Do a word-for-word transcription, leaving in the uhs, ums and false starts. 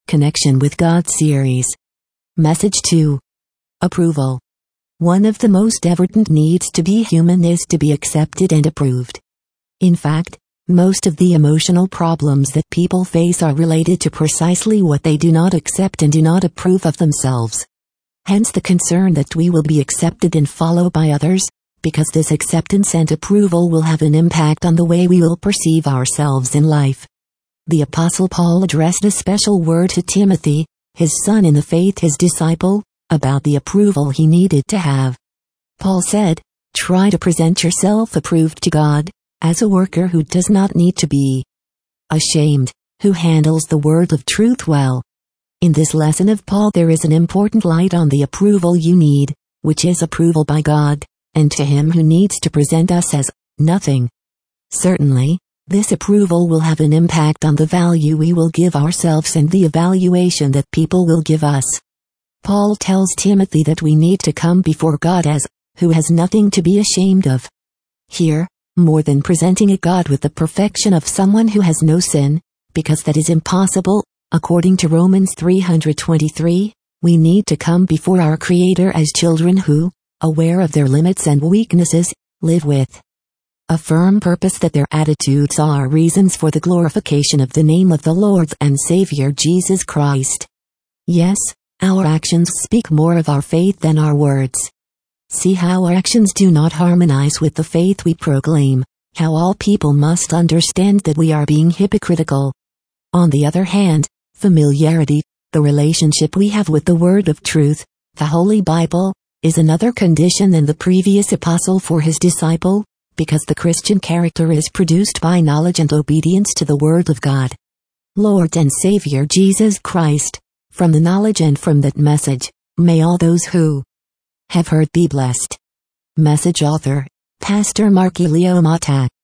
Connection with God series. Message two. Approval. One of the most evident needs to be human is to be accepted and approved. In fact, most of the emotional problems that people face are related to precisely what they do not accept and do not approve of themselves. Hence the concern that we will be accepted and followed by others, because this acceptance and approval will have an impact on the way we will perceive ourselves in life. The Apostle Paul addressed a special word to Timothy, his son in the faith, his disciple, about the approval he needed to have. Paul said, "Try to present yourself approved to God, as a worker who does not need to be ashamed, who handles the word of truth well." In this lesson of Paul there is an important light on the approval you need, which is approval by God, and to him who needs to present us as nothing. Certainly, this approval will have an impact on the value we will give ourselves and the evaluation that people will give us. Paul tells Timothy that we need to come before God as, who has nothing to be ashamed of. Here, more than presenting a God with the perfection of someone who has no sin, because that is impossible, according to Romans three twenty-three, we need to come before our Creator as children who, aware of their limits and weaknesses, live with a firm purpose that their attitudes are reasons for the glorification of the name of the Lord and Savior Jesus Christ. Yes, our actions speak more of our faith than our words. See how our actions do not harmonize with the faith we proclaim, how all people must understand that we are being hypocritical. On the other hand, familiarity, the relationship we have with the word of truth, the Holy Bible, is another condition than the previous apostle for his disciple, because the Christian character is produced by knowledge and obedience to the word of God. Lord and Savior Jesus Christ, from the knowledge and from that message, may all those who have heard be blessed. Message author, Pastor Mark Elio Mata.